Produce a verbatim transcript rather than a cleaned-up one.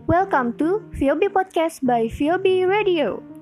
Welcome to V O B Podcast by V O B Radio.